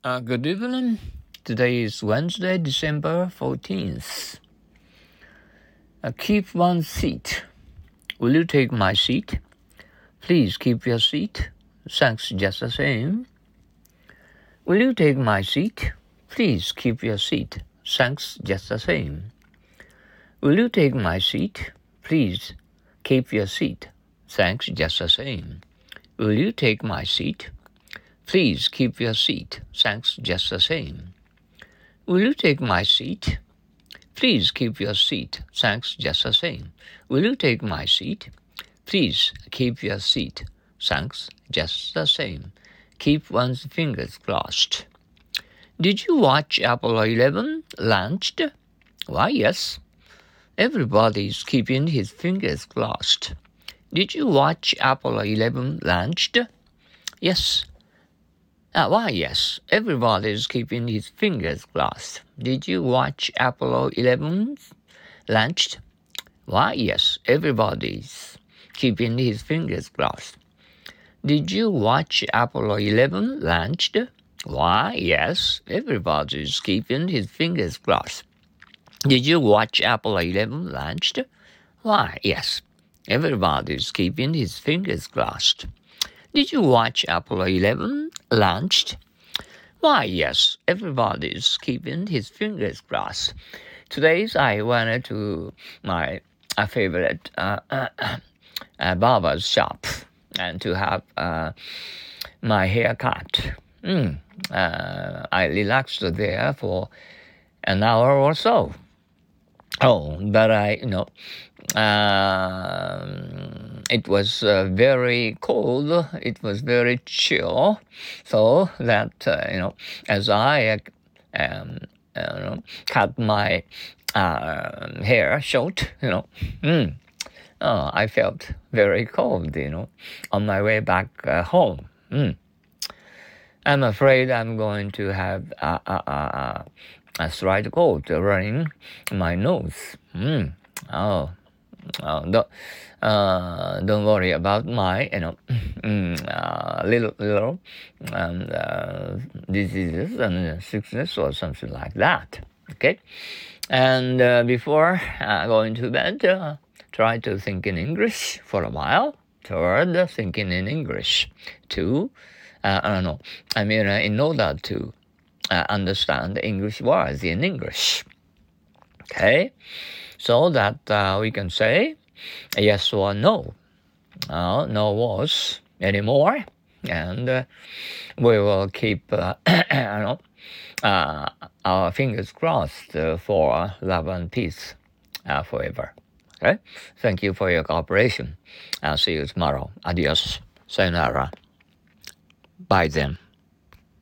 Good evening. Today is Wednesday, December 14th. Keep one seat. Will you take my seat? Please keep your seat. Thanks just the same. Will you take my seat? Please keep your seat. Thanks just the same. Will you take my seat? Please keep your seat. Thanks just the same. Will you take my seat? Please keep your seat. Thanks just the same. Will you take my seat? Please keep your seat. Thanks just the same. Will you take my seat? Please keep your seat. Thanks just the same. Keep one's fingers crossed. Did you watch Apollo 11 launched? Why, yes. Everybody's keeping his fingers crossed. Did you watch Apollo 11 launched? Yes. Why, yes. Everybody's keeping his fingers crossed. Did you watch Apollo 11 launched? Why, yes. Everybody's keeping his fingers crossed. Did you watch Apollo 11 launched? Why, yes. Everybody's keeping his fingers crossed. Did you watch Apollo 11 launched? Why, yes. Everybody's keeping his fingers crossed. Did you watch Apollo 11 launched? Why, yes, everybody's keeping his fingers crossed. Today I went to my favorite barber's shop and to have my hair cut. I relaxed there for an hour or so. But it was very cold. It was very chill. So that, as I cut my hair short, I felt very cold, on my way back home. I'm afraid I'm going to have a slight cold running my nose. Don't worry about my, little diseases and sickness or something like that. Okay, and before going to bed, try to think in English for a while. Third, thinking in English. Two, in order to understand English words in English. Okay, so that we can say yes or no. No words anymore, and we will keep our fingers crossed for love and peace forever. Okay, thank you for your cooperation. I'll see you tomorrow. Adios. Sayonara. Bye then.